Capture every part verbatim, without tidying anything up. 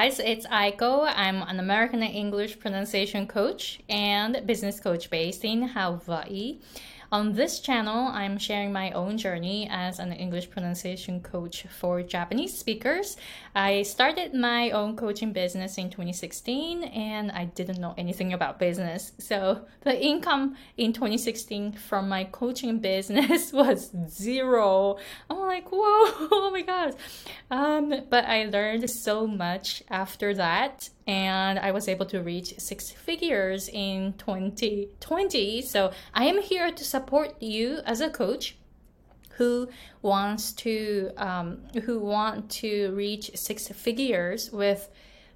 guys, it's Aiko. I'm an American English pronunciation coach and business coach based in Hawaii. On this channel, I'm sharing my own journey as an English pronunciation coach for Japanese speakers. I started my own coaching business in twenty sixteen and I didn't know anything about business. So the income in twenty sixteen from my coaching business was zero. I'm like, whoa, oh my God. Um, but I learned so much after that. And I was able to reach six figures in twenty twenty. So I am here to support you as a coach who wants to um, who want to reach six figures with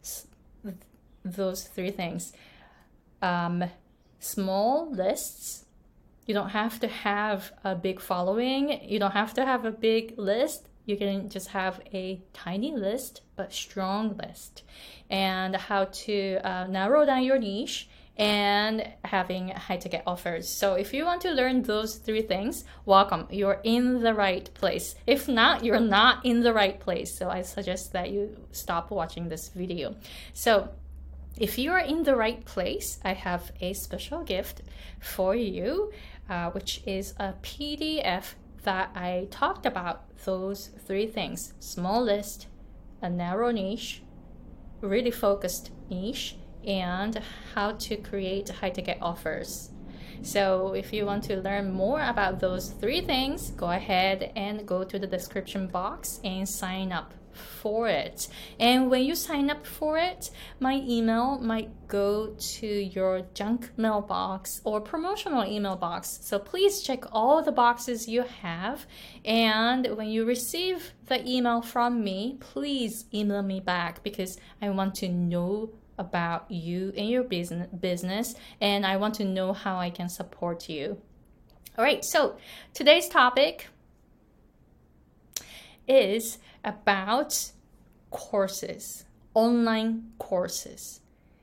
those three things. Um, small lists. You don't have to have a big following. You don't have to have a big list. You can just have a tiny list, but strong list. And how to uh, narrow down your niche and having high ticket offers. So if you want to learn those three things, welcome. You're in the right place. If not, you're not in the right place. So I suggest that you stop watching this video. So if you are in the right place, I have a special gift for you, uh, which is a P D F that I talked about those three things: small list, a narrow niche, really focused niche, and how to create high ticket offers. So if you want to learn more about those three things, go ahead and go to the description box and sign up for it. And when you sign up for it, my email might go to your junk mailbox or promotional email box. So please check all the boxes you have. And when you receive the email from me, please email me back, because I want to know about you and your business business and I want to know how I can support you. All right, so today's topic is about courses, online courses.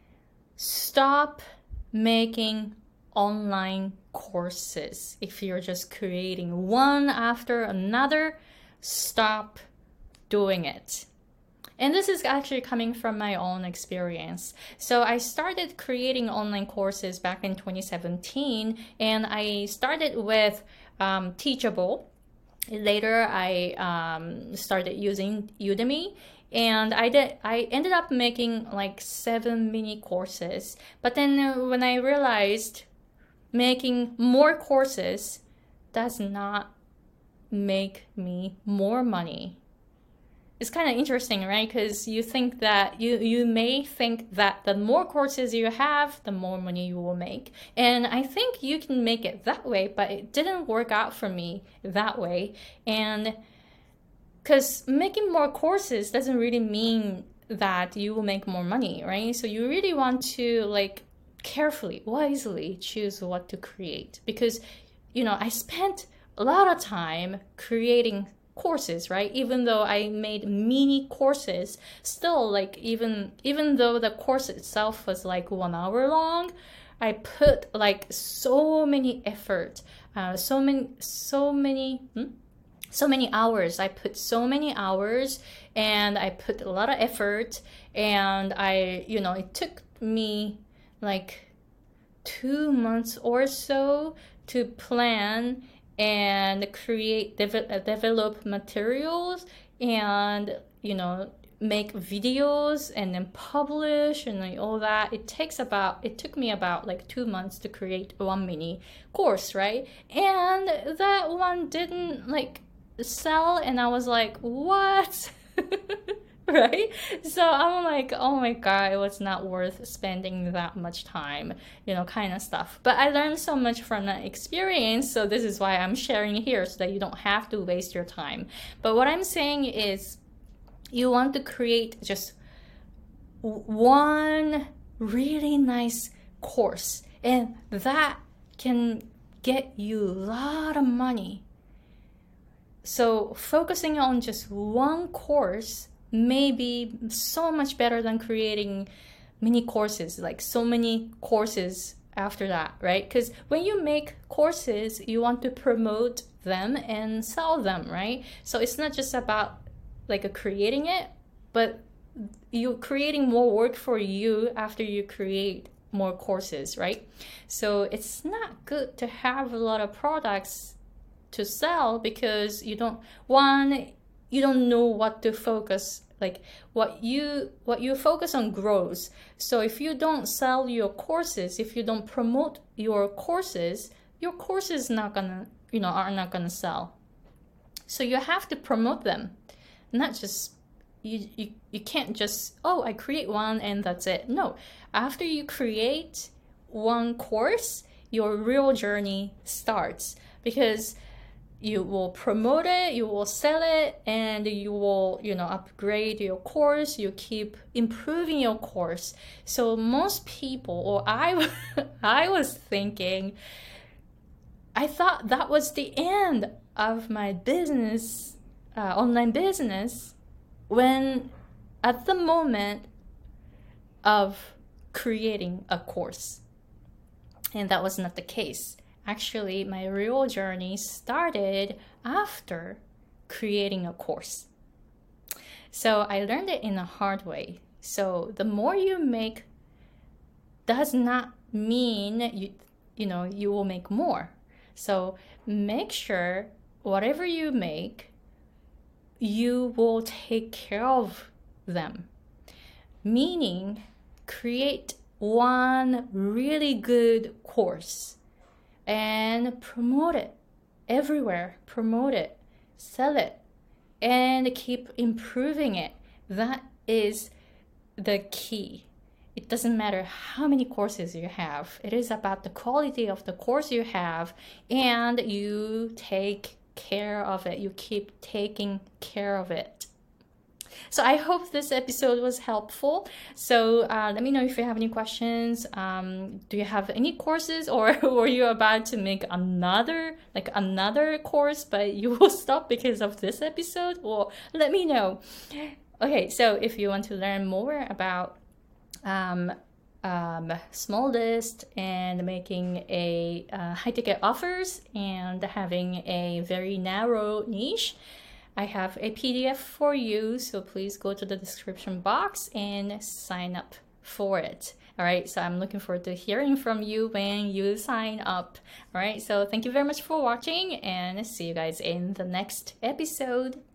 Stop making online courses. If you're just creating one after another, stop doing it. And this is actually coming from my own experience. So I started creating online courses back in twenty seventeen, and I started with um, Teachable. Later, I um, started using Udemy, and I did. I ended up making like seven mini courses. But then uh, when I realized making more courses does not make me more money. It's kind of interesting, right? Because you think that you, you may think that the more courses you have, the more money you will make. And I think you can make it that way, but it didn't work out for me that way. And because making more courses doesn't really mean that you will make more money, right? So you really want to like carefully, wisely choose what to create. Because, you know, I spent a lot of time creating courses, right? Even though I made mini courses, still like even even though the course itself was like one hour long, I put like so many effort, uh, so many so many hmm? so many hours. I put so many hours and I put a lot of effort, and I, you know, it took me like two months or so to plan and create, de- develop materials, and, you know, make videos and then publish and like all that. It takes about, it took me about like two months to create one mini course, right? And that one didn't like sell, and I was like, what? Right? So I'm like, oh my God, it was not worth spending that much time, you know, kind of stuff. But I learned so much from that experience. So this is why I'm sharing here, so that you don't have to waste your time. But what I'm saying is, you want to create just one really nice course, and that can get you a lot of money. So focusing on just one course may be so much better than creating mini courses, like so many courses after that, right? Because when you make courses, you want to promote them and sell them, right? So it's not just about like a creating it, but you're creating more work for you after you create more courses, right? So it's not good to have a lot of products to sell because you don't, one, you don't know what to focus, like what you what you focus on grows. So if you don't sell your courses, if you don't promote your courses, your courses not gonna, you know, are not gonna sell. So you have to promote them, not just you, you you can't just, oh, I create one and that's it. No, after you create one course, your real journey starts, because you will promote it, you will sell it, and you will, you know, upgrade your course. You keep improving your course. So most people, or I, I was thinking, I thought that was the end of my business, uh, online business, when at the moment of creating a course. And that was not the case. Actually, my real journey started after creating a course. So I learned it in a hard way. So the more you make does not mean you, you know, you will make more. So make sure whatever you make, you will take care of them. Meaning, create one really good course and promote it everywhere. Promote it, sell it, and keep improving it. That is the key. It doesn't matter how many courses you have. It is about the quality of the course you have, and you take care of it. You keep taking care of it. So I hope this episode was helpful. So uh, let me know if you have any questions. Um, do you have any courses, or were you about to make another, like another course, but you will stop because of this episode? Well, let me know. Okay, so if you want to learn more about um, um, small list and making a uh, high ticket offers and having a very narrow niche, I have a P D F for you, so please go to the description box and sign up for it. All right, so I'm looking forward to hearing from you when you sign up. All right, so thank you very much for watching, and see you guys in the next episode.